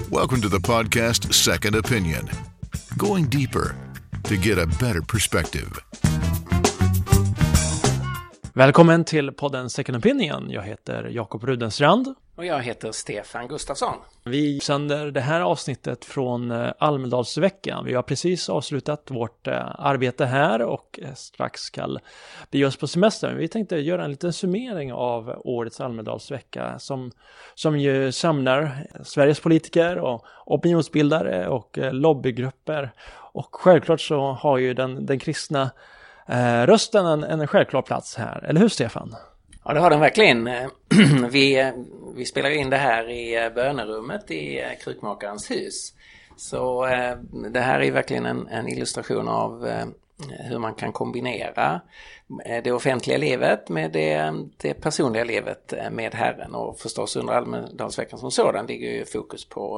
Welcome to the podcast Second Opinion. Going deeper to get a better perspective. Välkommen till podden Second Opinion. Jag heter Jakob Rudenstrand. Och jag heter Stefan Gustafsson. Vi sänder det här avsnittet från Almedalsveckan. Vi har precis avslutat vårt arbete här och strax ska bege oss på semester. Vi tänkte göra en liten summering av årets Almedalsvecka som ju samlar Sveriges politiker och opinionsbildare och lobbygrupper. Och självklart så har ju den kristna rösten en självklar plats här. Eller hur, Stefan? Ja, det har den verkligen. Vi spelar in det här i bönerummet i Krukmakarens hus. Så det här är verkligen en illustration av hur man kan kombinera det offentliga livet med det personliga livet med Herren. Och förstås under Almedalsveckan som sådan ligger ju fokus på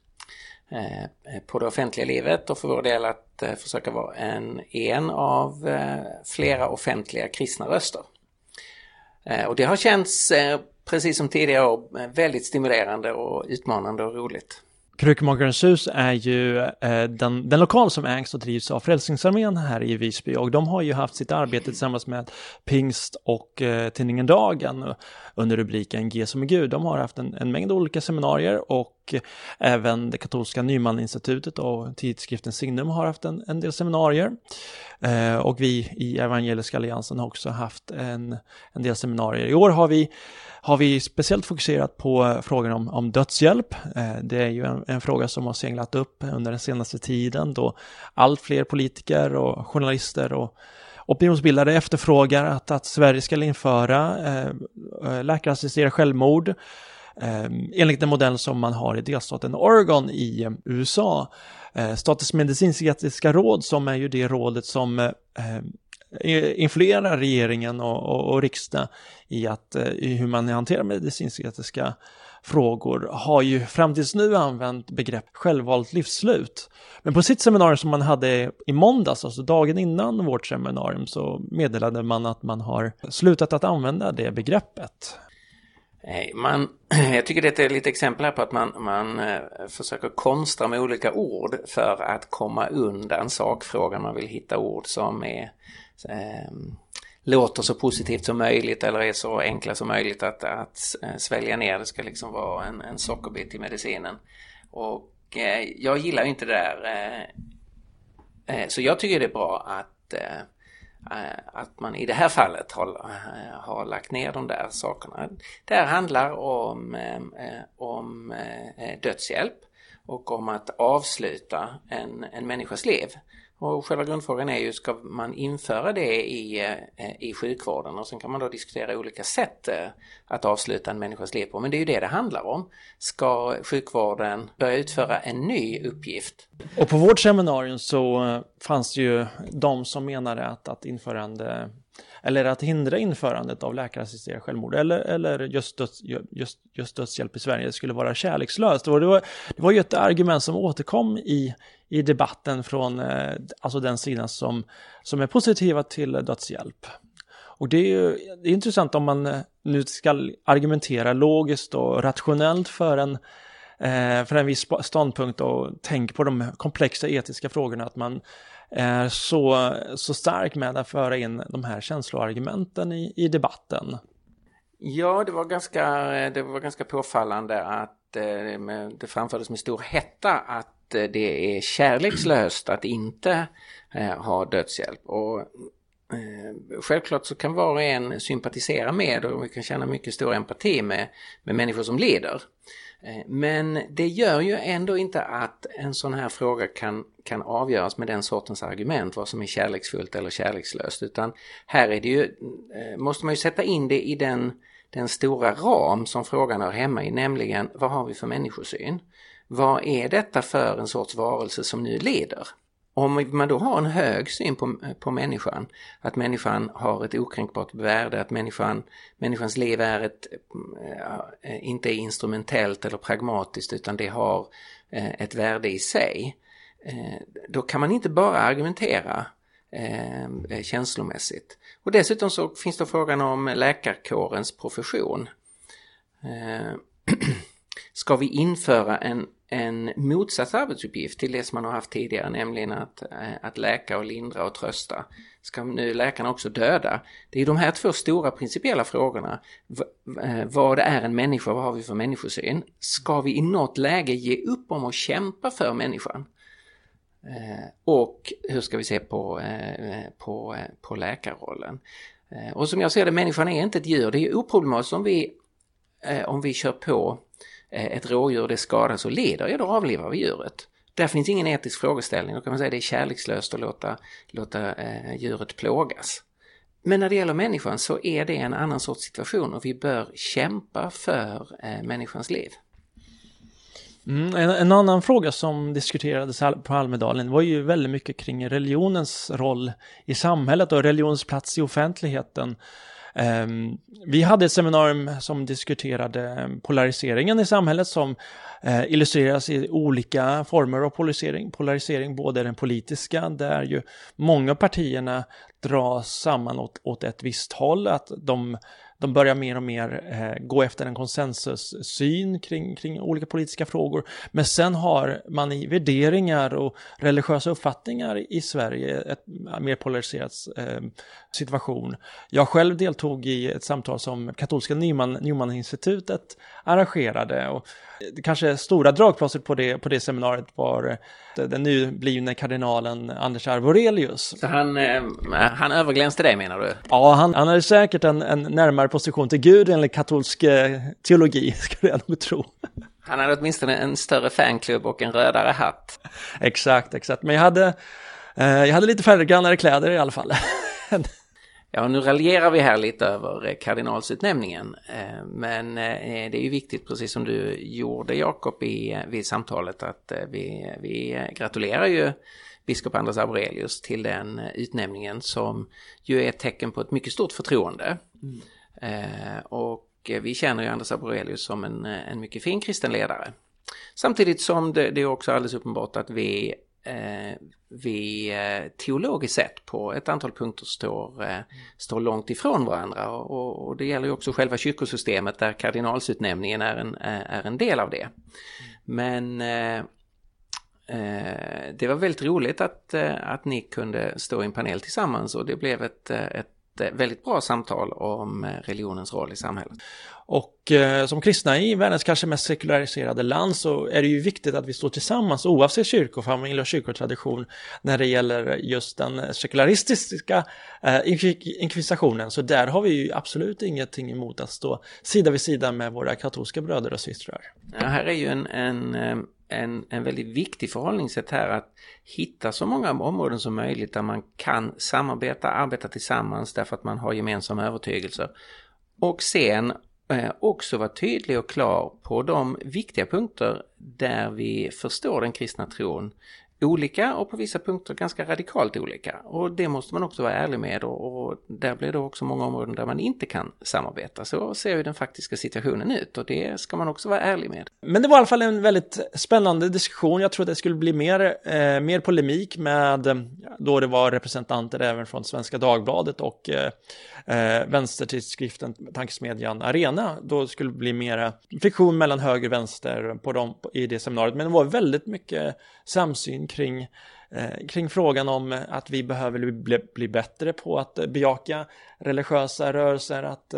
det offentliga livet, och för vår del att försöka vara en av flera offentliga kristna röster. Och det har känts, precis som tidigare år, väldigt stimulerande och utmanande och roligt. Krukmakarens hus är ju den lokal som ägs och drivs av Frälsningsarmén här i Visby, och de har ju haft sitt arbete tillsammans med Pingst och tidningen Dagen under rubriken G som är Gud. De har haft en mängd olika seminarier, och även det katolska Nyman-institutet och tidskriften Signum har haft en del seminarier. Och vi i Evangeliska Alliansen har också haft en del seminarier. I år har vi speciellt fokuserat på frågan om dödshjälp. Det är ju en fråga som har seglat upp under den senaste tiden, då allt fler politiker och journalister och opinionsbildare efterfrågar att Sverige ska införa läkarassisterad självmord enligt den modell som man har i delstaten Oregon i USA. Statens medicinsk-etiska råd, som är ju det rådet som influerar regeringen och riksdag i hur man hanterar medicinsk-etiska frågor, har ju fram tills nu använt begrepp självvalt livsslut. Men på sitt seminarium som man hade i måndags, alltså dagen innan vårt seminarium, så meddelade man att man har slutat att använda det begreppet. Jag tycker det är lite exempel här på att man försöker konstra med olika ord för att komma undan sakfrågan. Man vill hitta ord som låter så positivt som möjligt eller är så enkla som möjligt att svälja ner. Det ska liksom vara en sockerbit i medicinen. Och jag gillar inte det där. Så jag tycker det är bra att man i det här fallet har lagt ner de där sakerna. Det här handlar om dödshjälp och om att avsluta en människas liv. Och själva grundfrågan är ju, ska man införa det i sjukvården? Och sen kan man då diskutera olika sätt att avsluta en människas liv på. Men det är ju det handlar om. Ska sjukvården börja utföra en ny uppgift? Och på vårt seminarium så fanns det ju de som menade att hindra införandet av läkarassisterad självmord eller just dödshjälp i Sverige skulle vara kärlekslöst. Och det var ju ett argument som återkom i debatten från alltså den sidan som är positiva till dödshjälp. Och det är intressant om man nu ska argumentera logiskt och rationellt för en viss ståndpunkt och tänka på de komplexa etiska frågorna, att man är så stark med att föra in de här känsloargumenten i debatten. Ja, det var ganska påfallande att det framfördes med stor hetta att det är kärlekslöst att inte ha dödshjälp. Och självklart så kan var och en sympatisera med, och vi kan känna mycket stor empati med människor som lider. Men det gör ju ändå inte att en sån här fråga kan avgöras med den sortens argument, vad som är kärleksfullt eller kärlekslöst, utan här är det ju, måste man ju sätta in det i den stora ram som frågan hör hemma i, nämligen vad har vi för människosyn? Vad är detta för en sorts varelse som nu lider? Om man då har en hög syn på människan, att människan har ett okränkbart värde, att människans liv är inte är instrumentellt eller pragmatiskt, utan det har ett värde i sig, då kan man inte bara argumentera känslomässigt. Och dessutom så finns det frågan om läkarkårens profession. Ska vi införa en motsatt arbetsuppgift till det som man har haft tidigare, nämligen att läka och lindra och trösta. Ska nu läkarna också döda? Det är de här två stora principiella frågorna. Vad är en människa? Vad har vi för människosyn? Ska vi i något läge ge upp om att kämpa för människan? Och hur ska vi se på läkarrollen? Och som jag ser det, människan är inte ett djur. Det är ju oproblematiskt om vi kör på ett rådjur, det skadas och lider, ja då avlivar vi djuret. Där finns ingen etisk frågeställning. Då kan man säga att det är kärlekslöst att låta djuret plågas. Men när det gäller människan så är det en annan sorts situation och vi bör kämpa för människans liv. En annan fråga som diskuterades på Almedalen var ju väldigt mycket kring religionens roll i samhället och religionens plats i offentligheten. Vi hade ett seminarium som diskuterade polariseringen i samhället som illustreras i olika former av polarisering, både den politiska där ju många partierna dras samman åt ett visst håll, att de börjar mer och mer gå efter en konsensussyn kring olika politiska frågor. Men sen har man i värderingar och religiösa uppfattningar i Sverige ett mer polariserat situation. Jag själv deltog i ett samtal som katolska Newman-institutet arrangerade, och kanske stora dragplåstret på det seminariet var den nu blivne kardinalen Anders Arborelius. Så han överglänste dig, menar du? Ja, han hade säkert en närmare position till Gud enligt katolsk teologi, skulle jag nog tro. Han hade åtminstone en större fanklubb och en rödare hatt. Exakt. Men jag hade lite färre grannare kläder i alla fall. Ja, nu raljerar vi här lite över kardinalsutnämningen, men det är ju viktigt, precis som du gjorde, Jakob, vid samtalet, att vi gratulerar ju biskop Anders Arborelius till den utnämningen som ju är ett tecken på ett mycket stort förtroende. Och vi känner ju Anders Arborelius som en mycket fin kristen ledare. Samtidigt som det är också alldeles uppenbart att vi teologiskt sett på ett antal punkter står långt ifrån varandra, och det gäller ju också själva kyrkosystemet där kardinalsutnämningen är en del av det. Men det var väldigt roligt att ni kunde stå i en panel tillsammans, och det blev ett väldigt bra samtal om religionens roll i samhället. Och som kristna i världens kanske mest sekulariserade land så är det ju viktigt att vi står tillsammans oavsett kyrkofamilj och kyrkotradition när det gäller just den sekularistiska inkvisitionen. Så där har vi ju absolut ingenting emot att stå sida vid sida med våra katolska bröder och systrar. Ja, här är ju en väldigt viktig förhållningssätt här, att hitta så många områden som möjligt där man kan arbeta tillsammans därför att man har gemensamma övertygelser, och sen också vara tydlig och klar på de viktiga punkter där vi förstår den kristna tron olika, och på vissa punkter ganska radikalt olika, och det måste man också vara ärlig med, och där blir det också många områden där man inte kan samarbeta. Så ser ju den faktiska situationen ut, och det ska man också vara ärlig med. Men det var i alla fall en väldigt spännande diskussion. Jag tror att det skulle bli mer polemik med, då det var representanter även från Svenska Dagbladet och vänstertidskriften Tankesmedjan Arena. Då skulle det bli mer friktion mellan höger och vänster i det seminariet, men det var väldigt mycket samsyn kring frågan om att vi behöver bli bättre på att bejaka religiösa rörelser, att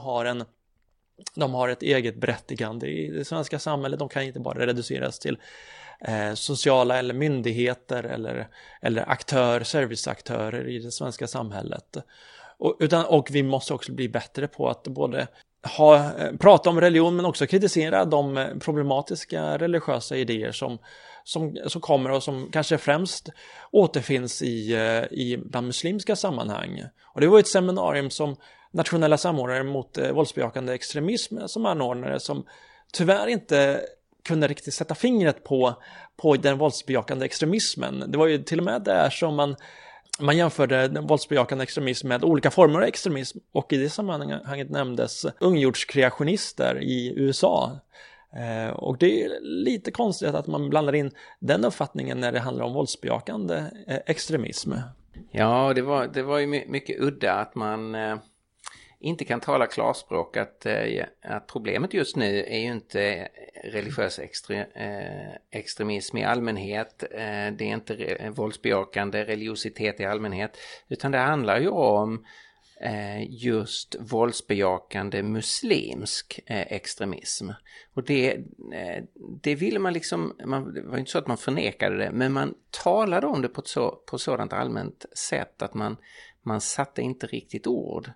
de har ett eget berättigande i det svenska samhället. De kan inte bara reduceras till sociala eller myndigheter eller serviceaktörer i det svenska samhället. Och vi måste också bli bättre på att både prata om religion men också kritisera de problematiska religiösa idéer som kommer och som kanske främst återfinns i bland muslimska sammanhang. Och det var ett seminarium som nationella samordnare mot våldsbejakande extremism som anordnare, som tyvärr inte kunde riktigt sätta fingret på den våldsbejakande extremismen. Det var ju till och med där som man jämförde den våldsbejakande extremism med olika former av extremism, och i det sammanhanget nämndes ungjordskreationister i USA. Och det är lite konstigt att man blandar in den uppfattningen när det handlar om våldsbejakande extremism. Ja, det var ju mycket udda att man inte kan tala klarspråk, att problemet just nu är ju inte religiös extremism i allmänhet, det är inte våldsbejakande religiositet i allmänhet, utan det handlar ju om just våldsbejakande muslimsk extremism. Och det ville man liksom, det var inte så att man förnekade det, men man talade om det på sådant allmänt sätt att man satte inte riktigt ord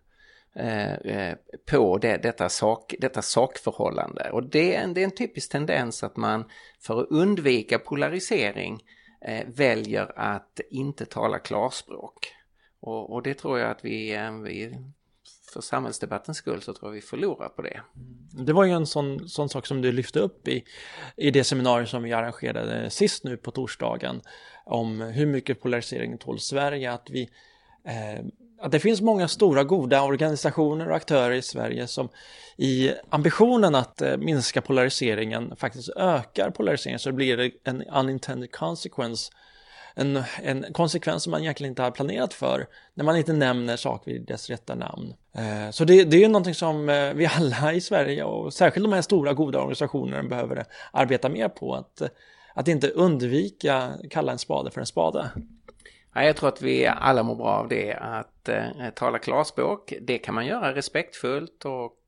på detta sakförhållande. Och det är en typisk tendens att man för att undvika polarisering väljer att inte tala klarspråk. Och det tror jag att vi för samhällsdebattens skull så tror jag vi förlorar på det. Det var ju en sån sak som du lyfte upp i det seminarium som vi arrangerade sist nu på torsdagen om hur mycket polarisering tål Sverige, att det finns många stora goda organisationer och aktörer i Sverige som i ambitionen att minska polariseringen faktiskt ökar polariseringen, så det blir en unintended consequence, en konsekvens som man egentligen inte har planerat för när man inte nämner saker vid dess rätta namn. Så det är ju någonting som vi alla i Sverige och särskilt de här stora goda organisationerna behöver arbeta mer på, att inte undvika kalla en spade för en spade. Ja, jag tror att vi alla mår bra av det, att tala klarspråk. Det kan man göra respektfullt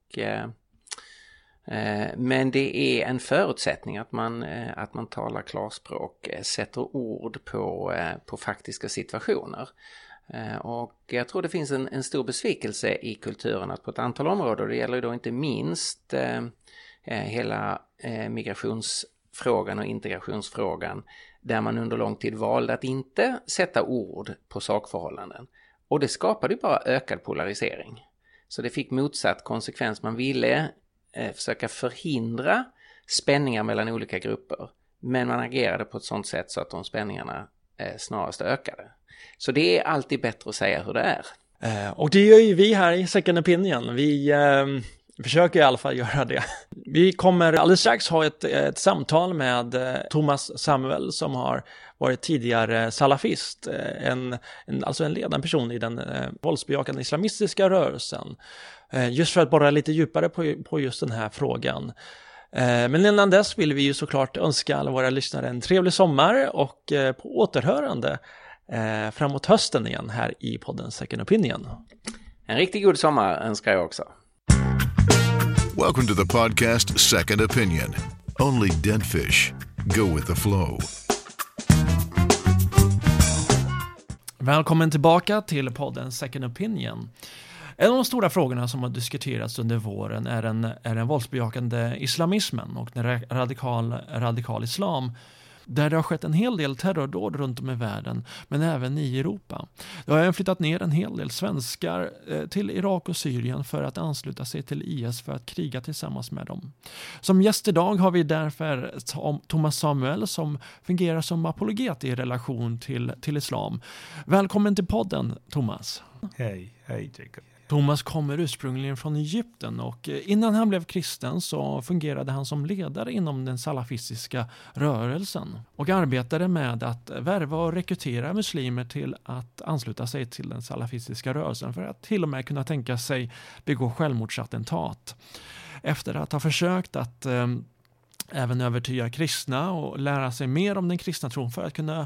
men det är en förutsättning att man talar klarspråk, sätter ord på faktiska situationer. Och jag tror det finns en stor besvikelse i kulturen att på ett antal områden, det gäller ju då inte minst hela migrationsfrågan och integrationsfrågan, där man under lång tid valde att inte sätta ord på sakförhållanden. Och det skapade ju bara ökad polarisering. Så det fick motsatt konsekvens. Man ville försöka förhindra spänningar mellan olika grupper, men man agerade på ett sådant sätt så att de spänningarna snarast ökade. Så det är alltid bättre att säga hur det är. Och det gör ju vi här i Second Opinion. Vi försöker i alla fall göra det. Vi kommer alldeles strax ha ett samtal med Thomas Samuel som har varit tidigare salafist, alltså en ledande person i den våldsbejakande islamistiska rörelsen. Just för att borra lite djupare på just den här frågan. Men innan dess vill vi ju såklart önska alla våra lyssnare en trevlig sommar och på återhörande framåt hösten igen här i podden Second Opinion. En riktigt god sommar önskar jag också. Welcome to the podcast Second Opinion. Only dead fish go with the flow. Välkommen tillbaka till podden Second Opinion. En av de stora frågorna som har diskuterats under våren är den våldsbejakande islamismen och den radikal islam, där det har skett en hel del terrordåd runt om i världen, men även i Europa. Det har även flyttat ner en hel del svenskar till Irak och Syrien för att ansluta sig till IS för att kriga tillsammans med dem. Som gäst idag har vi därför Thomas Samuel som fungerar som apologet i relation till islam. Välkommen till podden, Thomas. Hej Jacob. Thomas kommer ursprungligen från Egypten och innan han blev kristen så fungerade han som ledare inom den salafistiska rörelsen och arbetade med att värva och rekrytera muslimer till att ansluta sig till den salafistiska rörelsen för att till och med kunna tänka sig begå självmordsattentat. Efter att ha försökt att även övertyga kristna och lära sig mer om den kristna tron för att kunna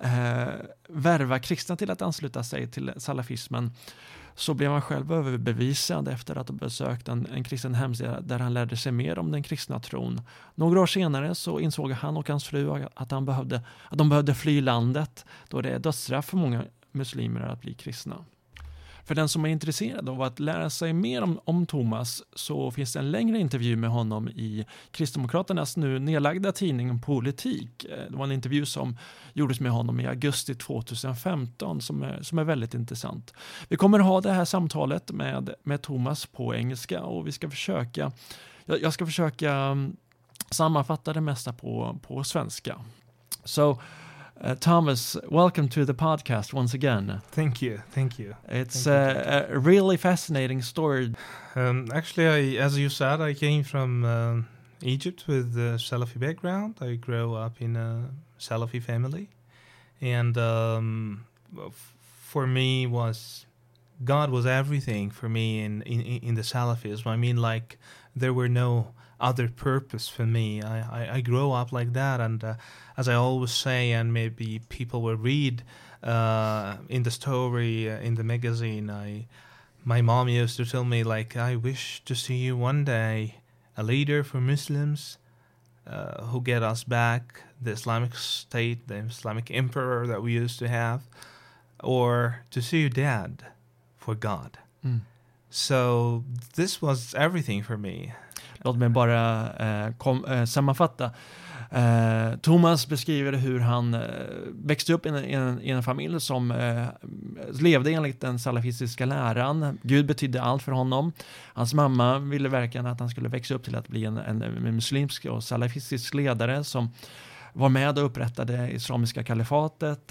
värva kristna till att ansluta sig till salafismen, så blev han själv överbevisad efter att ha besökt en kristen hemsida där han lärde sig mer om den kristna tron. Några år senare så insåg han och hans fru att de behövde fly landet, då det är dödsstraff för många muslimer att bli kristna. För den som är intresserad av att lära sig mer om Thomas så finns det en längre intervju med honom i Kristdemokraternas nu nedlagda tidning Politik. Det var en intervju som gjordes med honom i augusti 2015 som är väldigt intressant. Vi kommer ha det här samtalet med Thomas på engelska och jag ska försöka sammanfatta det mesta på svenska. So Thomas, welcome to the podcast once again. Thank you. It's a really fascinating story. Actually, as you said, I came from Egypt with a Salafi background. I grew up in a Salafi family. And for me was God was everything for me in the Salafism. I mean, like, there were no other purpose for me. I grew up like that, and as I always say, and maybe people will read in the story, in the magazine, my mom used to tell me, like, I wish to see you one day a leader for Muslims who get us back the Islamic State, the Islamic emperor that we used to have, or to see you dead for God. So this was everything for me. Låt mig bara sammanfatta. Thomas beskriver hur han växte upp i en familj som levde enligt den salafistiska läran. Gud betydde allt för honom. Hans mamma ville verkligen att han skulle växa upp till att bli en muslimsk och salafistisk ledare som var med och upprättade islamiska kalifatet,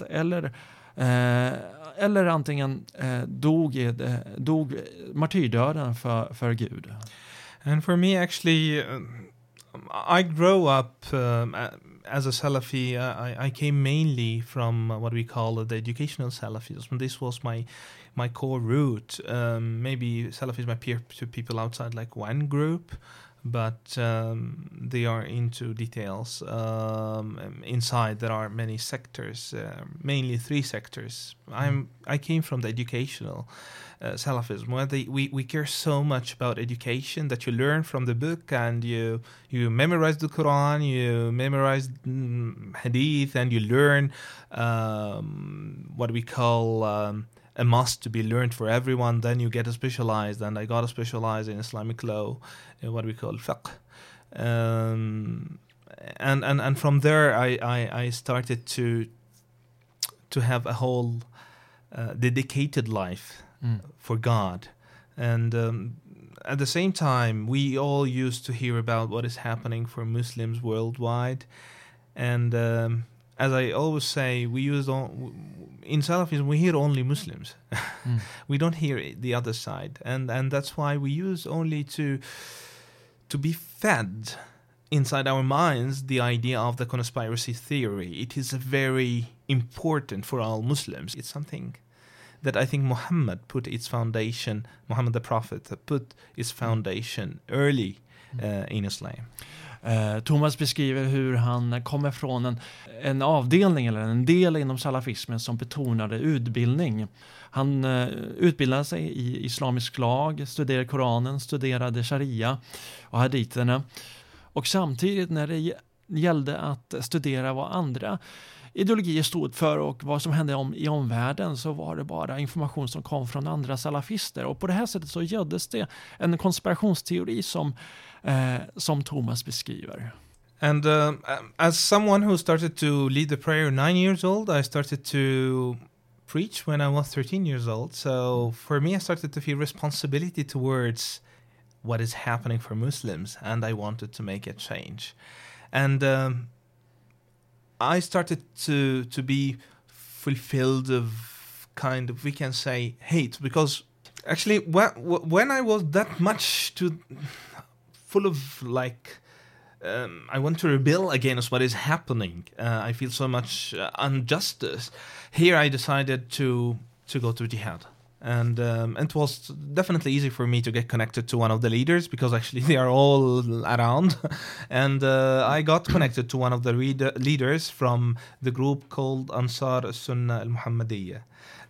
eller antingen dog martyrdöden för Gud. And for me, actually, I grew up as a Salafi. I came mainly from what we call the educational Salafism. This was my core root. Maybe Salafism appear to people outside like one group, but they are into details. Inside there are many sectors, mainly 3 sectors. I came from the educational Salafism, where we care so much about education, that you learn from the book, and you memorize the Quran, you memorize Hadith, and you learn what we call a must to be learned for everyone. Then you get a specialized, and I got a specialized in Islamic law, what we call fiqh. And from there I started to have a whole dedicated life for God. And at the same time, we all used to hear about what is happening for Muslims worldwide. And as I always say, in Salafism, we hear only Muslims. We don't hear the other side. And that's why we use only to be fed inside our minds the idea of the conspiracy theory. It is very important for all Muslims. It's something that I think Muhammad the Prophet put its foundation early in Islam. Thomas beskriver hur han kommer från en avdelning eller en del inom salafismen som betonade utbildning. Han utbildade sig i islamisk lag, studerade Koranen, studerade sharia och haditerna. Och samtidigt när det gällde att studera vad andra ideologier stod för och vad som hände i omvärlden, så var det bara information som kom från andra salafister. Och på det här sättet så göddes det en konspirationsteori som Thomas beskriver. And as someone who started to lead the prayer 9 years old, I started to preach when I was 13 years old. So for me, I started to feel responsibility towards what is happening for Muslims, and I wanted to make a change. And I started to be fulfilled of kind of, we can say, hate, because actually when I was that much full of like I want to rebel against what is happening. I feel so much injustice. Here I decided to go to jihad. And it was definitely easy for me to get connected to one of the leaders, because actually they are all around. And I got connected to one of the leaders from the group called Ansar Sunnah al-Muhammadiyya.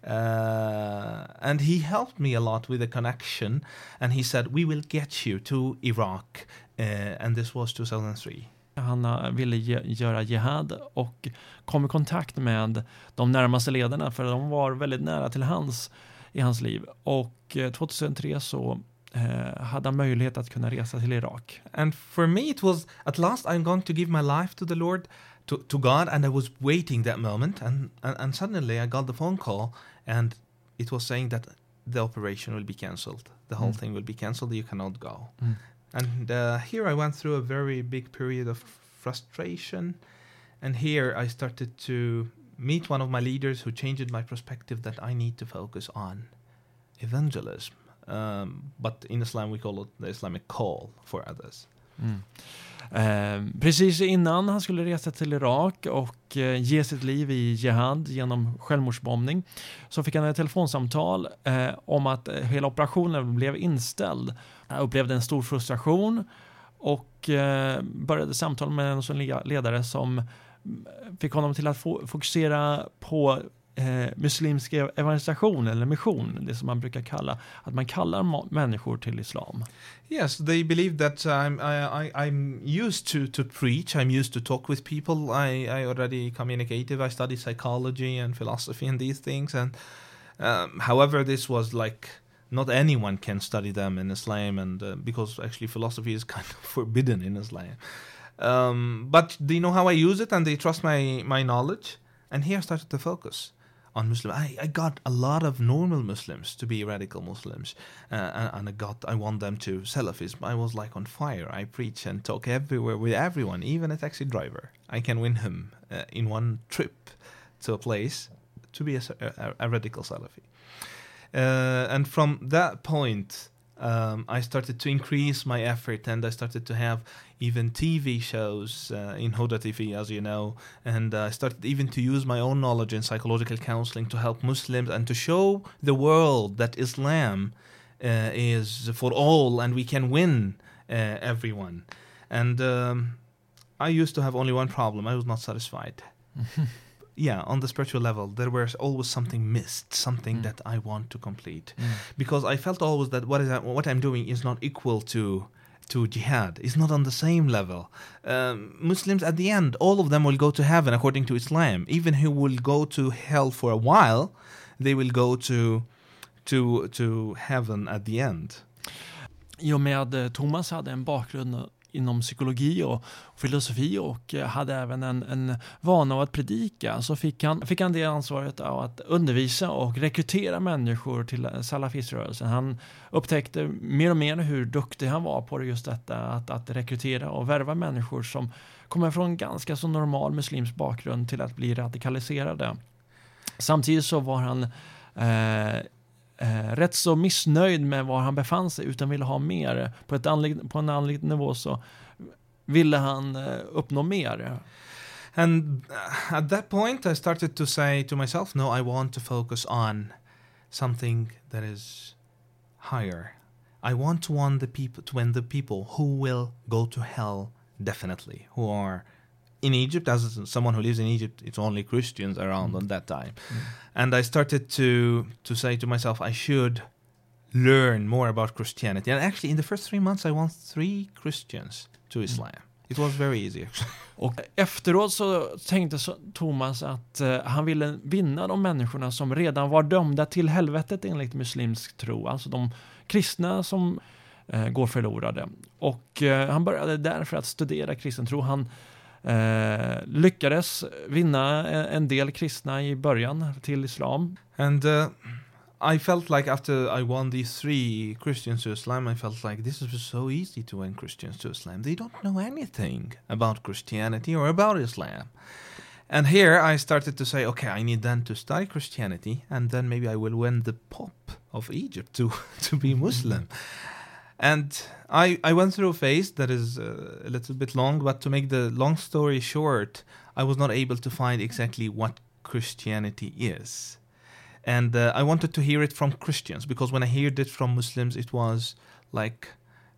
And he helped me a lot with the connection. And he said, we will get you to Iraq. And this was 2003. Han ville göra jihad och kom i kontakt med de närmaste ledarna, för de var väldigt nära till i hans liv. Och 2003 så hade han möjlighet att kunna resa till Irak. And for me it was, at last I'm going to give my life to the Lord, to God, and I was waiting that moment, and suddenly I got the phone call, and it was saying that the operation will be cancelled. The whole thing will be cancelled, you cannot go. And here I went through a very big period of frustration, and here I started to meet one of my leaders who changed my perspective that I need to focus on evangelism. But in Islam we call it the Islamic call for others. Precis innan han skulle resa till Irak och ge sitt liv i jihad genom självmordsbombning så fick han ett telefonsamtal om att hela operationen blev inställd. Han upplevde en stor frustration och började samtala med en sån ledare som fick honom till att fokusera på muslimsk evangelisation eller mission, det som man brukar kalla att man kallar människor till islam. Yes, they believe that I'm used to preach. I'm used to talk with people. I already communicative. I study psychology and philosophy and these things. And however, this was like not anyone can study them in Islam, and because actually philosophy is kind of forbidden in Islam. But they know how I use it, and they trust my knowledge. And here I started to focus on Muslim. I got a lot of normal Muslims to be radical Muslims, and I want them to Salafism. I was like on fire. I preach and talk everywhere with everyone, even a taxi driver. I can win him in one trip to a place to be a radical Salafi. And from that point, I started to increase my effort, and I started to have even TV shows in Huda TV, as you know, and I started even to use my own knowledge in psychological counseling to help Muslims and to show the world that Islam is for all and we can win everyone. And I used to have only one problem. I was not satisfied. Yeah, on the spiritual level, there was always something missed, something that I want to complete. Because I felt always that what I'm doing is not equal to jihad. It's not on the same level. Muslims, at the end, all of them will go to heaven according to Islam. Even who will go to hell for a while, they will go to heaven at the end. I och med Thomas hade en bakgrund inom psykologi och filosofi och hade även en vana av att predika, så fick han det ansvaret av att undervisa och rekrytera människor till salafiströrelsen. Han upptäckte mer och mer hur duktig han var på just detta, att rekrytera och värva människor som kommer från ganska så normal muslims bakgrund till att bli radikaliserade. Samtidigt så var han rätt så missnöjd med var han befann sig, utan ville ha mer. På en andlig nivå så ville han uppnå mer. And at that point I started to say to myself, no, I want to focus on something that is higher. I want to win the people who will go to hell definitely, who are in Egypt. As someone who lives in Egypt, it's only Christians around on that time. And I started to say to myself, I should learn more about Christianity. And actually in the first 3 months I won 3 Christians to Islam. It was very easy. Och efteråt så tänkte Thomas att han ville vinna de människorna som redan var dömda till helvetet enligt muslimsk tro. Alltså de kristna som går förlorade. Och han började därför att studera kristen tro. Han lyckades vinna en del kristna i början till islam. And I felt like after I won these 3 Christians to Islam, I felt like this was so easy to win Christians to Islam. They don't know anything about Christianity or about Islam. And here I started to say, okay, I need then to study Christianity, and then maybe I will win the Pope of Egypt to be Muslim. And I went through a phase that is a little bit long, but to make the long story short, I was not able to find exactly what Christianity is. And I wanted to hear it from Christians, because when I heard it from Muslims, it was like,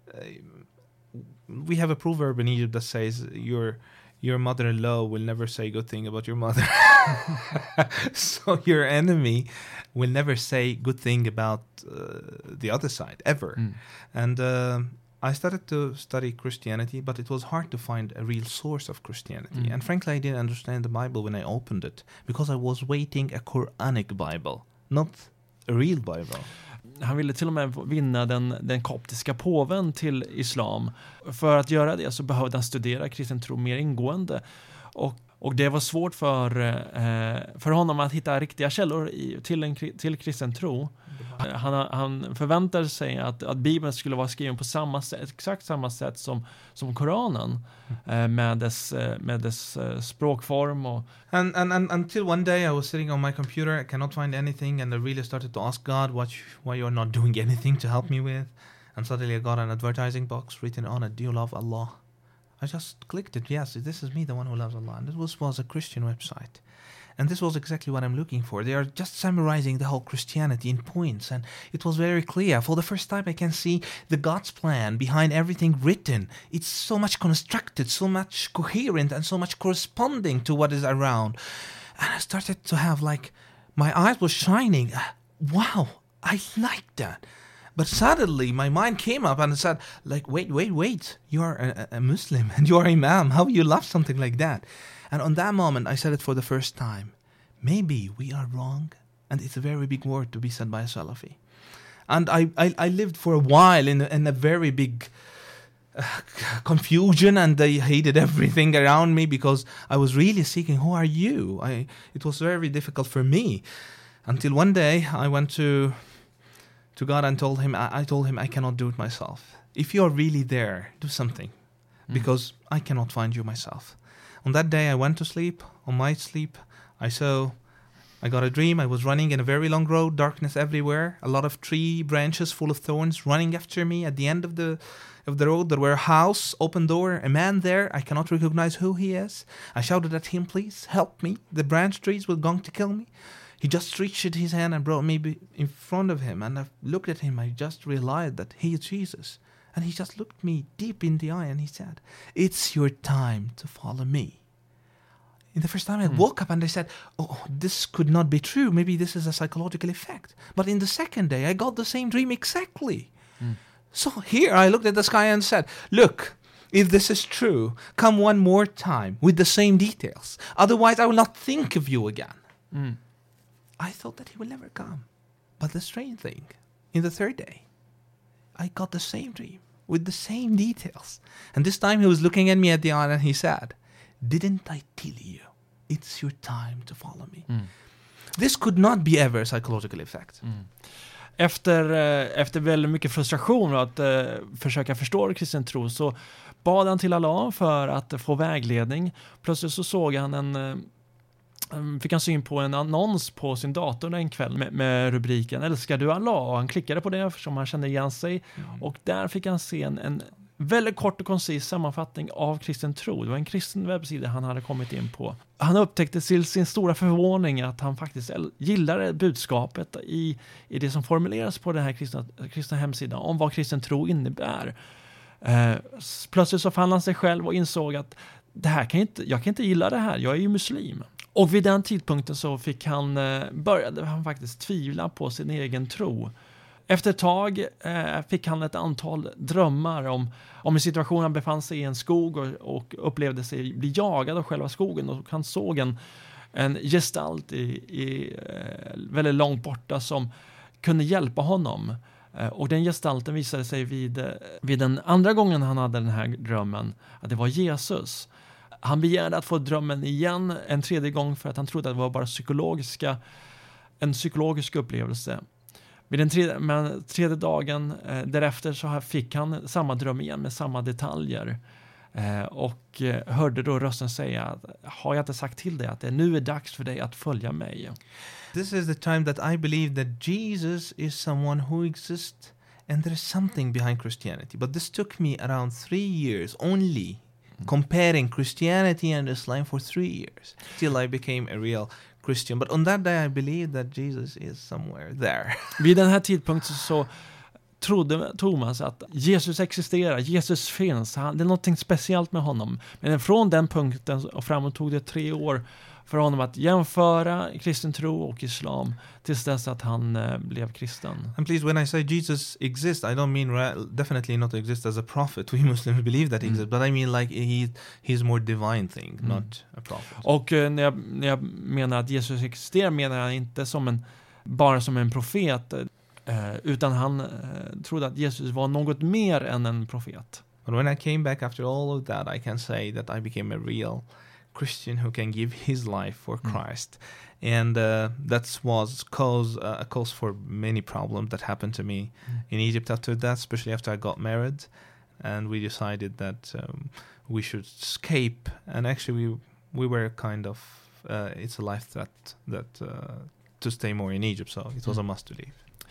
we have a proverb in Egypt that says, your mother-in-law will never say good thing about your mother. So your enemy will never say good thing about the other side, ever. And I started to study Christianity, but it was hard to find a real source of Christianity. And frankly, I didn't understand the Bible when I opened it, because I was waiting a Quranic Bible, not a real Bible. Han ville till och med vinna den koptiska påven till islam. För att göra det så behövde han studera kristen tro mer ingående. Och det var svårt för honom att hitta riktiga källor till kristen tro. Han förväntade sig att Bibeln skulle vara skriven på exakt samma sätt som Koranen, med dess språkform. And until one day I was sitting on my computer, I cannot find anything, and I really started to ask God why you're not doing anything to help me with. And suddenly I got an advertising box written on it, do you love Allah? I just clicked it. Yes, this is me, the one who loves Allah. And this was a Christian website. And this was exactly what I'm looking for. They are just summarizing the whole Christianity in points. And it was very clear. For the first time, I can see the God's plan behind everything written. It's so much constructed, so much coherent, and so much corresponding to what is around. And I started to have my eyes were shining. Wow, I like that. But suddenly my mind came up and said, wait, you are a Muslim and you are Imam. How you love something like that? And on that moment, I said it for the first time. Maybe we are wrong. And it's a very big word to be said by a Salafi. And I lived for a while in a very big confusion, and they hated everything around me because I was really seeking, who are you? It was very difficult for me. Until one day I went to God and told him, I cannot do it myself. If you are really there, do something, because I cannot find you myself. On that day I went to sleep. On my sleep I got a dream. I was running in a very long road, darkness everywhere, a lot of tree branches full of thorns running after me. At the end of the road there were a house, open door, a man there. I cannot recognize who he is. I shouted at him, please help me. The branch trees were going to kill me. He just reached his hand and brought me in front of him. And I looked at him. I just realized that he is Jesus. And he just looked me deep in the eye and he said, it's your time to follow me. In the first time I woke up and I said, oh, this could not be true. Maybe this is a psychological effect. But in the second day, I got the same dream exactly. So here I looked at the sky and said, look, if this is true, come one more time with the same details. Otherwise, I will not think of you again. I thought that he will never come. But the strange thing, in the third day, I got the same dream with the same details. And this time he was looking at me at the eye and he said, didn't I tell you? It's your time to follow me. This could not be ever a psychological effect. Efter väldigt mycket frustration att försöka förstå kristen tro, så bad han till Allah för att få vägledning. Plötsligt så såg han fick han syn på en annons på sin dator en kväll med rubriken Älskar du Allah? Och han klickade på det eftersom han kände igen sig. Och där fick han se en väldigt kort och koncis sammanfattning av kristen tro. Det var en kristen webbsida han hade kommit in på. Han upptäckte till sin stora förvåning att han faktiskt gillade budskapet i det som formuleras på den här kristna hemsidan om vad kristen tro innebär. Plötsligt så fann han sig själv och insåg att jag kan inte gilla det här, jag är ju muslim. Och vid den tidpunkten så började han faktiskt tvivla på sin egen tro. Efter ett tag fick han ett antal drömmar om en situation han befann sig i en skog och upplevde sig bli jagad av själva skogen. Och han såg en gestalt väldigt långt borta som kunde hjälpa honom. Och den gestalten visade sig vid den andra gången han hade den här drömmen att det var Jesus. Han begärde att få drömmen igen en tredje gång för att han trodde att det var bara en psykologisk upplevelse. Vid den tredje dagen därefter så fick han samma dröm igen med samma detaljer. Och hörde då rösten säga, har jag inte sagt till dig att det nu är dags för dig att följa mig? This is the time that I believe that Jesus is someone who exists and there is something behind Christianity. But this took me around 3 years only, comparing Christianity and Islam for 3 years, till I became a real Christian. But on that day I believe that Jesus is somewhere there. Vid den här tidpunkten så trodde Thomas att Jesus existerar, Jesus finns, det är något speciellt med honom. Men från den punkten och framåt tog det 3 år för honom att jämföra kristen tro och islam tills dess att han blev kristen. And please, when I say Jesus exists, I don't mean definitely not exist as a prophet. We Muslims believe that he exists, but I mean like he's more divine thing, not a prophet. Och när jag menar att Jesus existerar menar jag inte bara som en profet, utan han trodde att Jesus var något mer än en profet. But when I came back after all of that, I can say that I became a real Christian who can give his life for Christ. And that was a cause for many problems that happened to me in Egypt after that, especially after I got married. And we decided that we should escape. And actually we were kind of, it's a life threat that to stay more in Egypt, so it was a must to leave.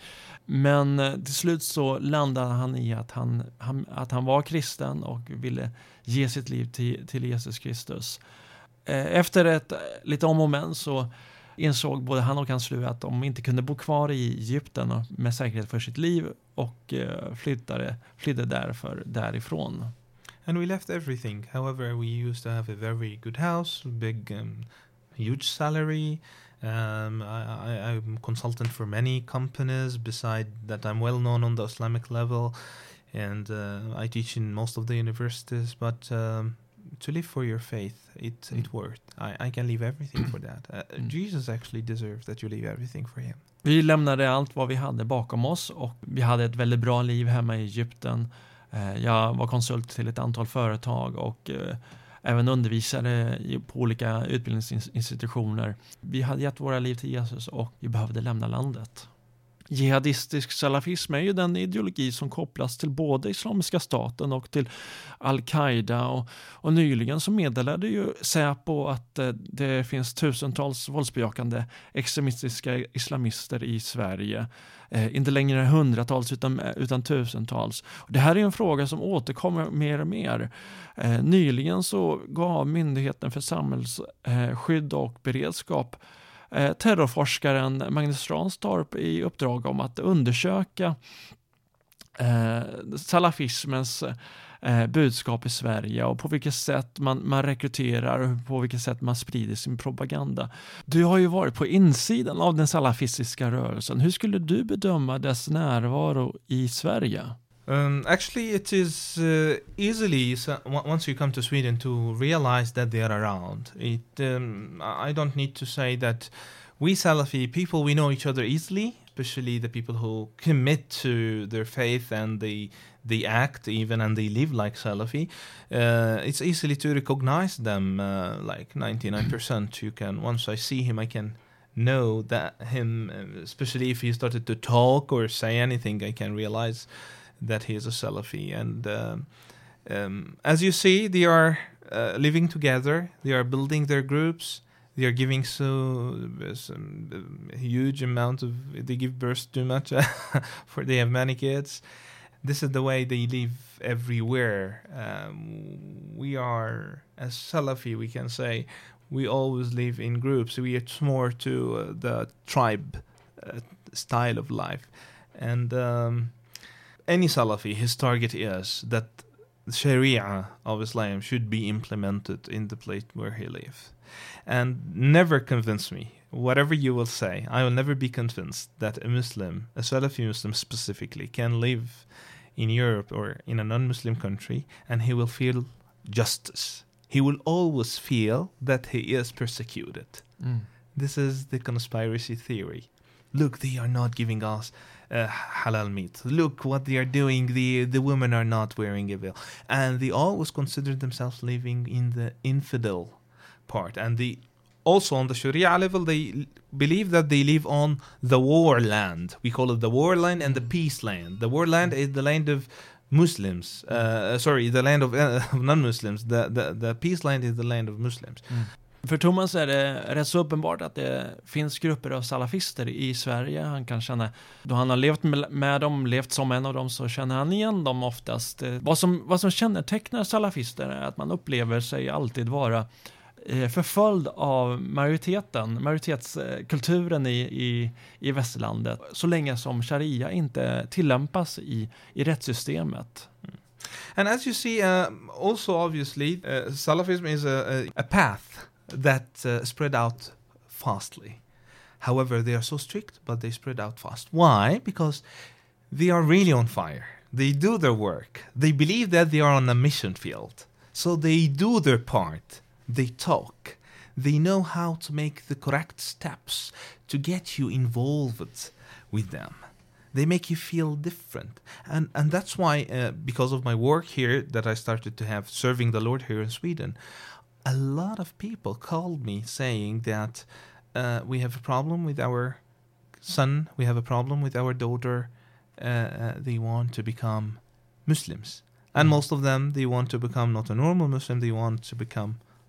Men till slut så landade han i att han var kristen och ville ge sitt liv till Jesus Kristus. Efter ett lite om och men så insåg både han och hans fru att de inte kunde bo kvar i Egypten med säkerhet för sitt liv och flydde därför därifrån. And we left everything. However, we used to have a very good house, big, huge salary. I'm consultant for many companies. Beside that, I'm well known on the Islamic level, and I teach in most of the universities. But to live for your faith, it worked. I can leave everything for that. Jesus actually deserves that you leave everything for him. Vi lämnade allt vad vi hade bakom oss och vi hade ett väldigt bra liv hemma i Egypten. Jag var konsult till ett antal företag och även undervisade på olika utbildningsinstitutioner. Vi hade gett våra liv till Jesus och vi behövde lämna landet. Jihadistisk salafism är ju den ideologi som kopplas till både Islamiska staten och till Al-Qaida och nyligen så meddelade ju Säpo att det finns tusentals våldsbejakande extremistiska islamister i Sverige. Inte längre hundratals utan tusentals. Det här är en fråga som återkommer mer och mer. Nyligen så gav Myndigheten för samhällsskydd och beredskap terrorforskaren Magnus Ranstorp i uppdrag om att undersöka salafismens budskap i Sverige och på vilket sätt man rekryterar och på vilket sätt man sprider sin propaganda. Du har ju varit på insidan av den salafistiska rörelsen. Hur skulle du bedöma dess närvaro i Sverige? Actually, it is easily, once you come to Sweden, to realize that they are around. I don't need to say that we Salafi people, we know each other easily, especially the people who commit to their faith and they act even and they live like Salafi. It's easily to recognize them, like 99%. You can, once I see him, I can know that him, especially if he started to talk or say anything, I can realize that he is a Salafi. And as you see, they are living together, they are building their groups, they are giving a huge amount of, they give birth too much, for they have many kids. This is the way they live everywhere. We are, as Salafi, we can say, we always live in groups. It's more to the tribe style of life. And any Salafi, his target is that the Sharia of Islam should be implemented in the place where he lives. And never convince me, whatever you will say, I will never be convinced that a Muslim, a Salafi Muslim specifically, can live in Europe or in a non-Muslim country and he will feel justice. He will always feel that he is persecuted. This is the conspiracy theory. Look, they are not giving us halal meat. Look what they are doing. The women are not wearing a veil. And they always consider themselves living in the infidel part. And they also on the Sharia level, they believe that they live on the war land. We call it the war land and the peace land. The war land is the land of Muslims. The land of non-Muslims. The peace land is the land of Muslims. För Thomas är det rätt så uppenbart att det finns grupper av salafister i Sverige. Han kan känna, då han har levt med dem, levt som en av dem, så känner han igen dem oftast. Vad som kännetecknar salafister är att man upplever sig alltid vara förföljd av majoritetskulturen i västerlandet, så länge som sharia inte tillämpas i rättssystemet. And as you see, also obviously, Salafism is a path that spread out fastly. However, they are so strict, but they spread out fast. Why? Because they are really on fire. They do their work. They believe that they are on a mission field. So they do their part. They talk. They know how to make the correct steps to get you involved with them. They make you feel different. And that's why, because of my work here that I started to have serving the Lord here in Sweden, a lot of people called me saying that we have a problem with our son, we have a problem with our daughter, they want to become Muslims. And most of them, they want to become not a normal Muslim, they want to become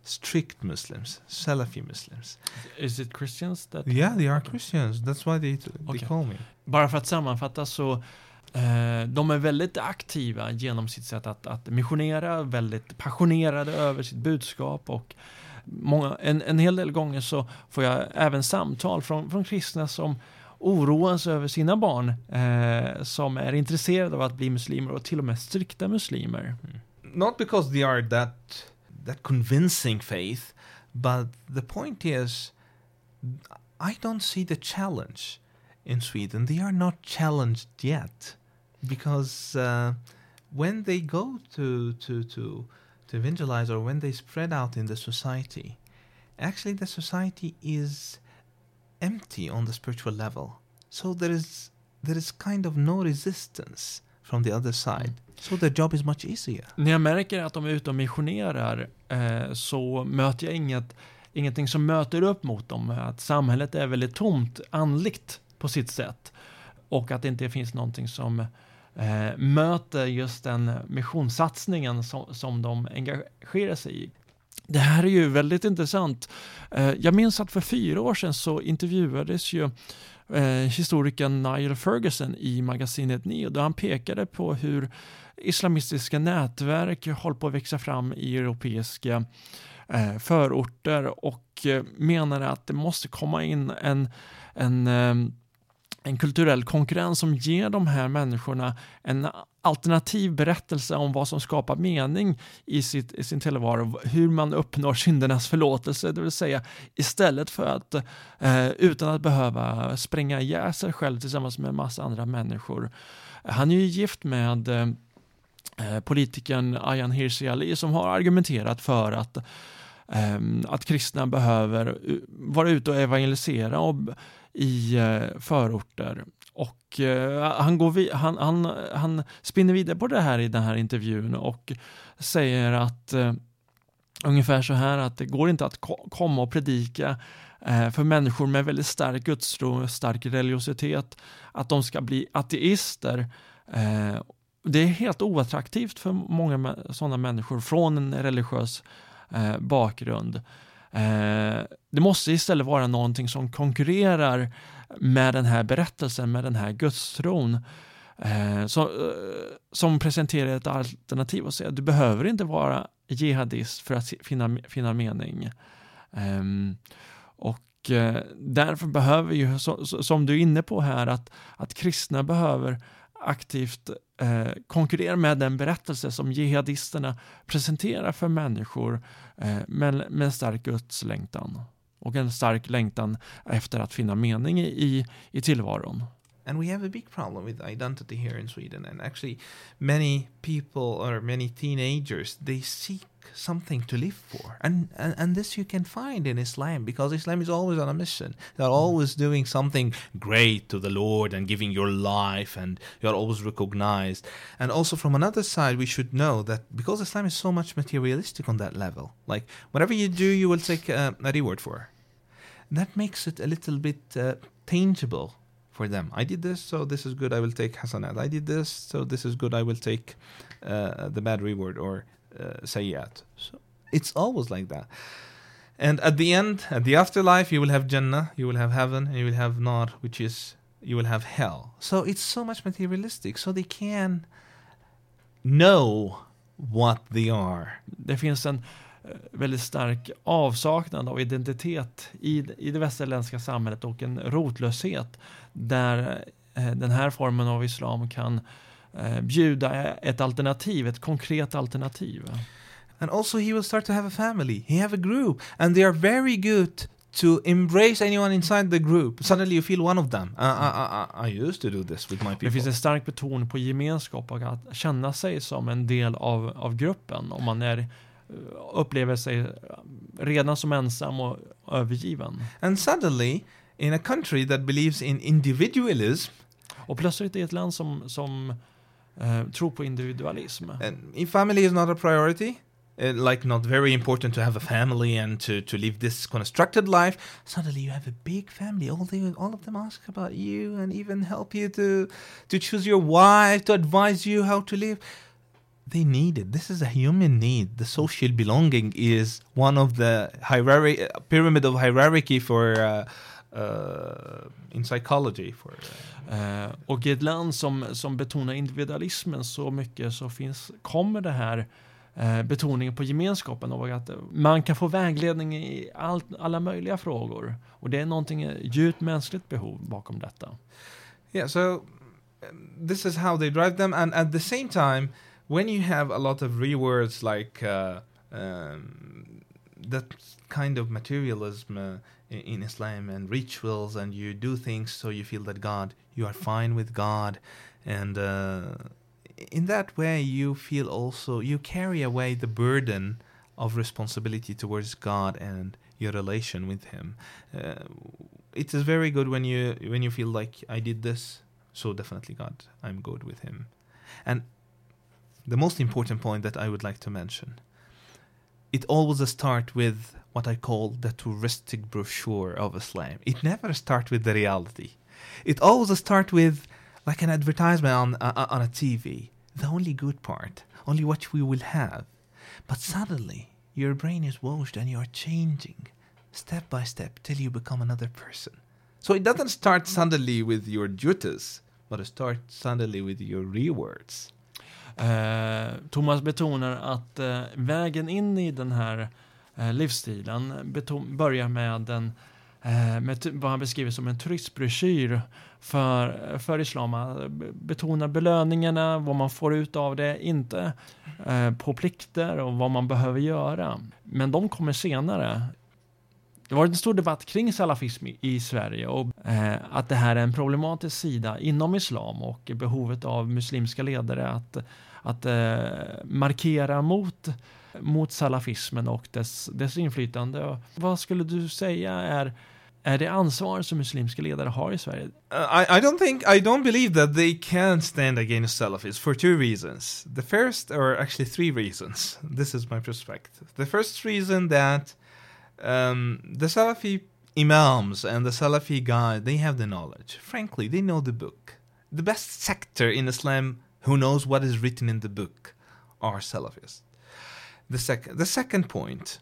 strict Muslims, Salafi Muslims. Is it Christians that? Yeah, they are Christians. That's why they call me. Bara för att sammanfatta så de är väldigt aktiva genom sitt sätt att missionera, väldigt passionerade över sitt budskap, och en hel del gånger så får jag även samtal från kristna som oroas över sina barn som är intresserade av att bli muslimer, och till och med strikta muslimer. Not because they are that convincing faith, but the point is, I don't see the challenge in Sweden. They are not challenged yet, because when they go to evangelize, or when they spread out in the society, actually the society is empty on the spiritual level. So there is kind of no resistance from the other side. So the job is much easier. När jag märker att de är ute och missionerar så möter jag ingenting som möter upp mot dem. Att samhället är väldigt tomt andligt på sitt sätt. Och att det inte finns någonting som möter just den missionssatsningen som de engagerar sig i. Det här är ju väldigt intressant. Jag minns att för 4 år sedan så intervjuades ju historikern Niall Ferguson i magasinet Neo, där han pekade på hur islamistiska nätverk håller på att växa fram i europeiska förorter, och menade att det måste komma in en kulturell konkurrens som ger de här människorna en alternativ berättelse om vad som skapar mening i sin tillvaro, hur man uppnår syndernas förlåtelse, det vill säga istället för att utan att behöva spränga ihjäl sig själv tillsammans med en massa andra människor. Han är ju gift med politikern Ayaan Hirsi Ali, som har argumenterat för att kristna behöver vara ute och evangelisera i förorter, och han spinner vidare på det här i den här intervjun och säger att ungefär så här, att det går inte att komma och predika för människor med väldigt stark gudstro, stark religiositet, att de ska bli ateister. Det är helt oattraktivt för många sådana människor från en religiös bakgrund. Det måste istället vara någonting som konkurrerar med den här berättelsen, med den här gudstron, som presenterar ett alternativ och säger att du behöver inte vara jihadist för att finna mening. Och därför behöver ju, som du är inne på här, att kristna behöver aktivt konkurrera med den berättelse som jihadisterna presenterar för människor med en stark gudslängtan och en stark längtan efter att finna mening i tillvaron. And we have a big problem with identity here in Sweden, and actually many people, or many teenagers, they seek something to live for, and this you can find in Islam, because Islam is always on a mission. They're always doing something great to the Lord and giving your life, and you're always recognized. And also from another side, we should know that because Islam is so much materialistic on that level, like whatever you do, you will take a reward for. That makes it a little bit tangible for them. I did this, so this is good, I will take hasanat. I did this, so this is good, I will take the bad reward, or sayyat. So it's always like that. And at the end, at the afterlife, you will have Jannah, you will have heaven, and you will have Nar, which is, you will have hell. So it's so much materialistic, so they can know what they are. Det finns en väldigt stark avsaknad av identitet i det västerländska samhället, och en rotlöshet där den här formen av islam kan bjuda ett alternativ, ett konkret alternativ. And also he will start to have a family. He have a group, and they are very good to embrace anyone inside the group. Suddenly you feel one of them. I used to do this with my people. Det finns en stark betoning på gemenskap och att känna sig som en del av gruppen, om man upplever sig redan som ensam och övergiven. And suddenly, in a country that believes in individualism, och plötsligt i ett land som tror på individualism. And if family is not a priority, like not very important to have a family and to live this constructed life, suddenly you have a big family. All of them ask about you and even help you to choose your wife, to advise you how to live. they need it. This is a human need. The social belonging is one of the pyramid of hierarchy for in psychology. Och i ett land som betonar individualismen så mycket så kommer det här betoningen på gemenskapen och att man kan få vägledning i alla möjliga frågor. Och det är någonting djupt mänskligt behov bakom detta. Yeah, so this is how they drive them, and at the same time, when you have a lot of rewards like that kind of materialism in Islam and rituals, and you do things so you feel that you are fine with God, and in that way you feel also you carry away the burden of responsibility towards God and your relation with Him. It is very good when you feel like I did this, so definitely God, I'm good with Him. And the most important point that I would like to mention, it always starts with what I call the touristic brochure of Islam. It never starts with the reality. It always starts with like an advertisement on a TV. The only good part, only what we will have. But suddenly, your brain is washed and you're changing step by step till you become another person. So it doesn't start suddenly with your duties, but it starts suddenly with your rewards. Thomas betonar att vägen in i den här livsstilen börjar med vad han beskriver som en turistbroschyr för islam. Betonar belöningarna, vad man får ut av det, inte på plikter och vad man behöver göra. Men de kommer senare. Det var en stor debatt kring salafism i Sverige och att det här är en problematisk sida inom islam och behovet av muslimska ledare att markera mot salafismen och dess inflytande. Vad skulle du säga är det ansvar som muslimska ledare har i Sverige? I don't believe that they can stand against Salafis for two reasons. The first, or actually three reasons. This is my perspective. The first reason that the Salafi imams and the Salafi guys, they have the knowledge. Frankly, they know the book. The best sector in Islam who knows what is written in the book are Salafis. The second point,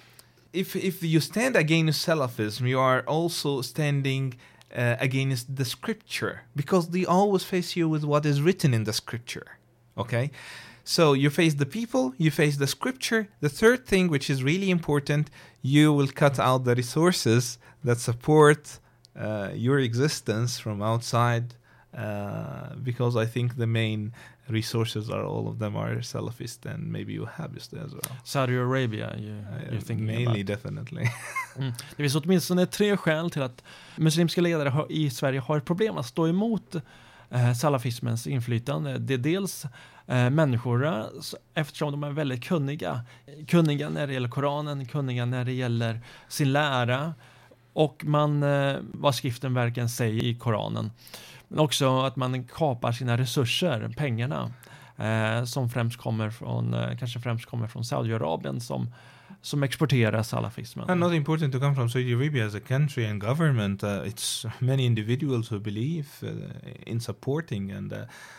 if you stand against Salafism, you are also standing against the scripture, because they always face you with what is written in the scripture. Okay? So you face the people, you face the scripture. The third thing, which is really important, you will cut out the resources that support your existence from outside, because I think the main resources all of them are Salafist and maybe Wahhabist as well. Saudi Arabia, you're thinking mainly, about. Definitely. Det finns åtminstone 3 skäl till att muslimska ledare i Sverige har ett problem att stå emot salafismens inflytande. Det är dels människor, eftersom de är väldigt kunniga när det gäller Koranen, kunniga när det gäller sin lära och vad skriften verkligen säger i Koranen. Men också att man kapar sina resurser, pengarna, som kanske främst kommer från Saudiarabien som exporterar salafismen. And not important to come from Saudi Arabia as a country and government. It's many individuals who believe in supporting, and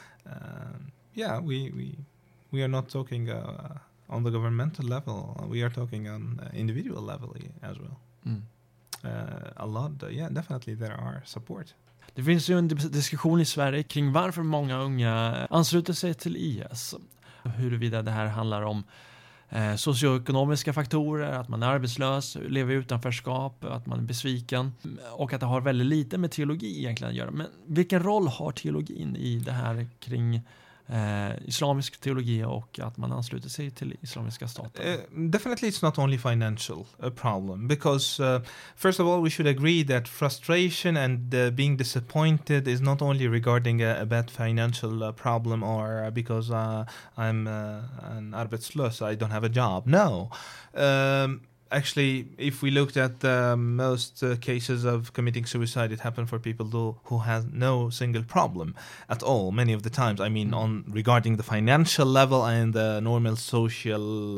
we are not talking on the governmental level. We are talking on individual level as well. A lot, definitely there are support. Det finns ju en diskussion i Sverige kring varför många unga ansluter sig till IS. Huruvida det här handlar om socioekonomiska faktorer, att man är arbetslös, lever i utanförskap, att man är besviken och att det har väldigt lite med teologi egentligen att göra. Men vilken roll har teologin i det här kring islamisk teologi och att man ansluter sig till islamiska staten? Definitely it's not only financial problem, because first of all we should agree that frustration and being disappointed is not only regarding a bad financial problem or because I'm an arbetslös, I don't have a job. No. Actually, if we looked at most cases of committing suicide, it happened for people who has no single problem at all. Many of the times, I mean, regarding the financial level and the normal social,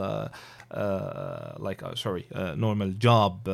normal job,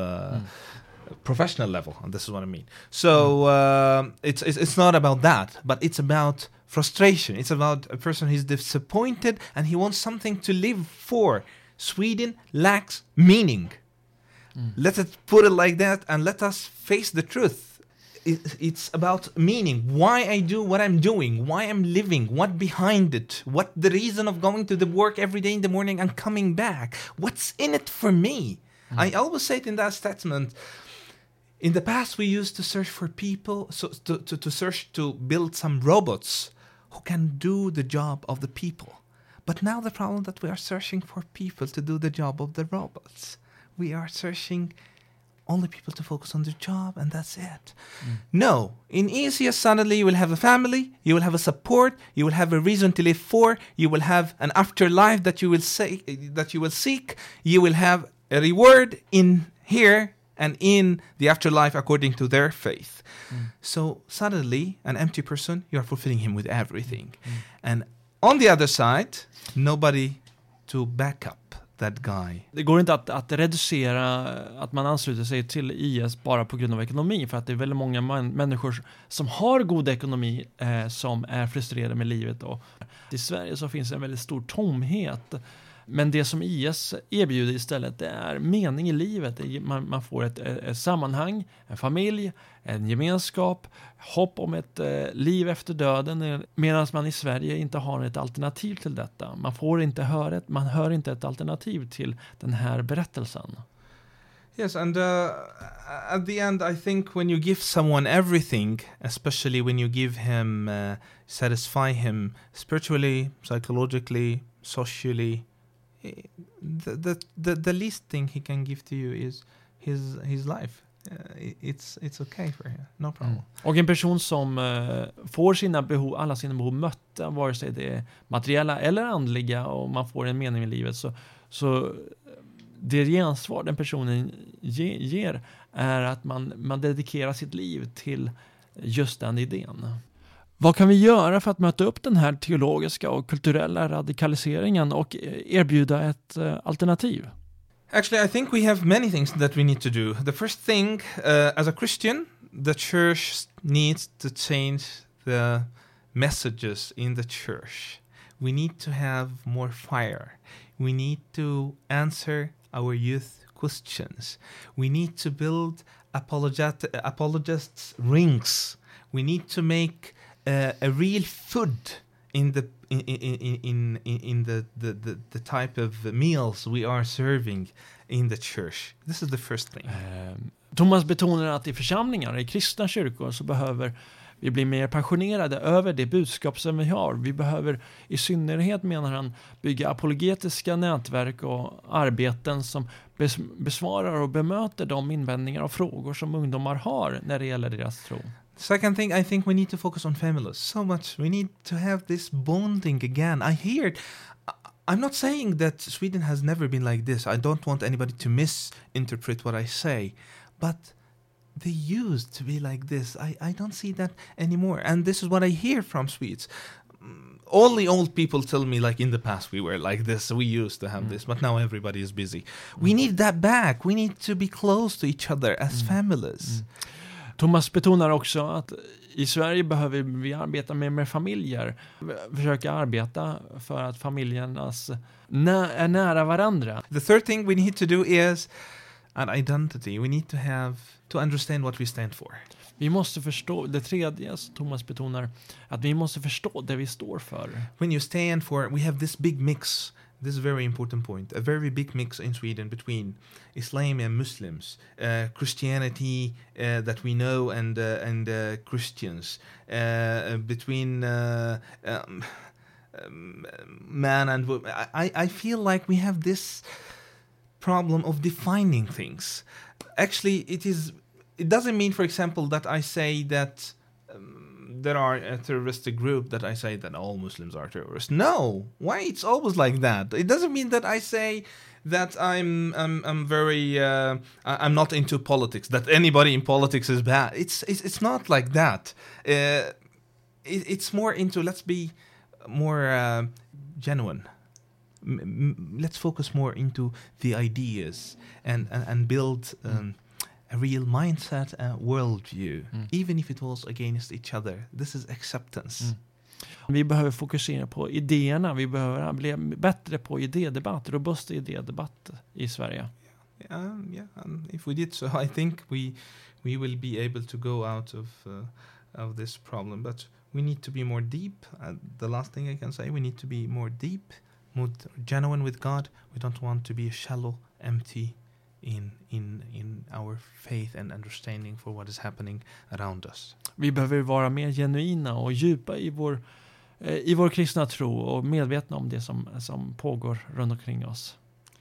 professional level. And this is what I mean. So it's not about that, but it's about frustration. It's about a person who's disappointed and he wants something to live for. Sweden lacks meaning. Let us put it like that, and let us face the truth. It's about meaning. Why I do what I'm doing, why I'm living, what behind it, what the reason of going to the work every day in the morning and coming back. What's in it for me? I always say it in that statement. In the past, we used to search for people, to search to build some robots who can do the job of the people. But now the problem that we are searching for people to do the job of the robots. We are searching only people to focus on their job, and that's it. No, in ECS suddenly you will have a family, you will have a support, you will have a reason to live for, you will have an afterlife that you will seek, you will have a reward in here and in the afterlife according to their faith. So suddenly, an empty person, you are fulfilling him with everything. And on the other side, nobody to back up that guy. Det går inte att reducera att man ansluter sig till IS bara på grund av ekonomi, för att det är väldigt många människor som har god ekonomi som är frustrerade med livet. Och i Sverige så finns en väldigt stor tomhet. Men det som IS erbjuder istället, det är mening i livet. Man får ett sammanhang, en familj, en gemenskap, hopp om ett liv efter döden, medan man i Sverige inte har ett alternativ till detta. Man hör inte ett alternativ till den här berättelsen. Yes, and at the end, I think when you give someone everything, especially when you give him, satisfy him spiritually, psychologically, socially, the least thing he can give to you is his life. It's okay for him, no problem. Och en person som får alla sina behov mötta, vare sig det är materiella eller andliga, och man får en mening i livet, så det gensvar den personen ger är att man dedikerar sitt liv till just den idén. Vad kan vi göra för att möta upp den här teologiska och kulturella radikaliseringen och erbjuda ett alternativ? Actually, I think we have many things that we need to do. The first thing, as a Christian, the church needs to change the messages in the church. We need to have more fire. We need to answer our youth questions. We need to build apologists' rings. We need to make a real food in the type of meals we are serving in the church. This is the first thing. Thomas betonar att i församlingar, i kristna kyrkor, så behöver vi bli mer passionerade över det budskap som vi har. Vi behöver i synnerhet, menar han, bygga apologetiska nätverk och arbeten som besvarar och bemöter de invändningar och frågor som ungdomar har när det gäller deras tro. Second thing, I think we need to focus on families so much. We need to have this bonding again. I'm not saying that Sweden has never been like this. I don't want anybody to misinterpret what I say. But they used to be like this. I don't see that anymore. And this is what I hear from Swedes. Only old people tell me, like, in the past we were like this, we used to have this, but now everybody is busy. We need that back. We need to be close to each other as families. Thomas betonar också att i Sverige behöver vi arbeta med familjer. Försöka arbeta för att familjernas är nära varandra. The third thing we need to do is an identity. We need to understand what we stand for. Vi måste förstå, det tredje Thomas betonar, att vi måste förstå det vi står för. When you stand for, we have this big mix. This is a very important point. A very big mix in Sweden between Islam and Muslims, Christianity that we know and Christians, between man and woman. I feel like we have this problem of defining things. Actually, it doesn't mean, for example, that I say that there are a terroristic group that I say that all Muslims are terrorists. No, why it's always like that? It doesn't mean that I say that I'm very I'm not into politics. That anybody in politics is bad. It's not like that. It's more into, let's be more genuine. Let's focus more into the ideas and build. A real mindset and worldview, even if it was against each other. This is acceptance. Vi behöver fokusera på idéerna. Vi behöver bli bättre på idédebatt, robust idédebatt i Sverige. Yeah, and if we did so, I think we will be able to go out of this problem. But we need to be more deep. The last thing I can say, we need to be more deep, more genuine with God. We don't want to be shallow, empty in our faith and understanding for what is happening around us. Vi behöver vara mer genuina och djupa i vår kristna tro och medvetna om det som pågår runt omkring oss.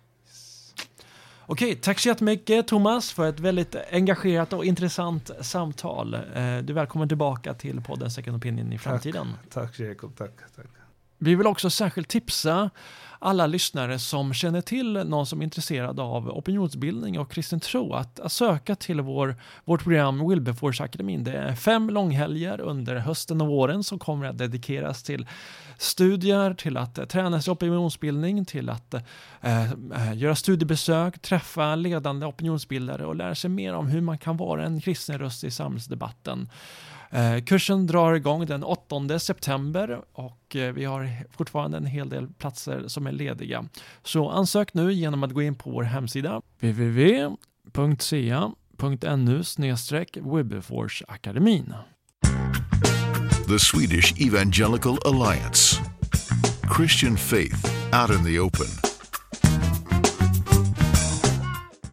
Okej, tack så jättemycket Thomas för ett väldigt engagerat och intressant samtal. Du är välkommen tillbaka till podden Second Opinion i framtiden. Tack Jacob, tack. Vi vill också särskilt tipsa alla lyssnare som känner till någon som är intresserad av opinionsbildning och kristen tro att söka till vårt program Wilberforce-akademin. Det är 5 långhelger under hösten och våren som kommer att dedikeras till studier, till att träna sig opinionsbildning, till att göra studiebesök, träffa ledande opinionsbildare och lära sig mer om hur man kan vara en kristen röst i samhällsdebatten. Kursen drar igång den 8 september och vi har fortfarande en hel del platser som är lediga. Så ansök nu genom att gå in på vår hemsida www.ca.nu/Wilberforce-akademin. The Swedish Evangelical Alliance. Christian faith out in the open.